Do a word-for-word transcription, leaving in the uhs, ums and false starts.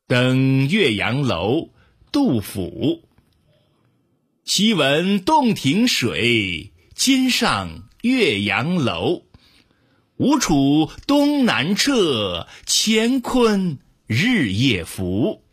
登岳阳楼，杜甫。昔闻洞庭水，今上岳阳楼。吴楚东南坼，乾坤日夜浮。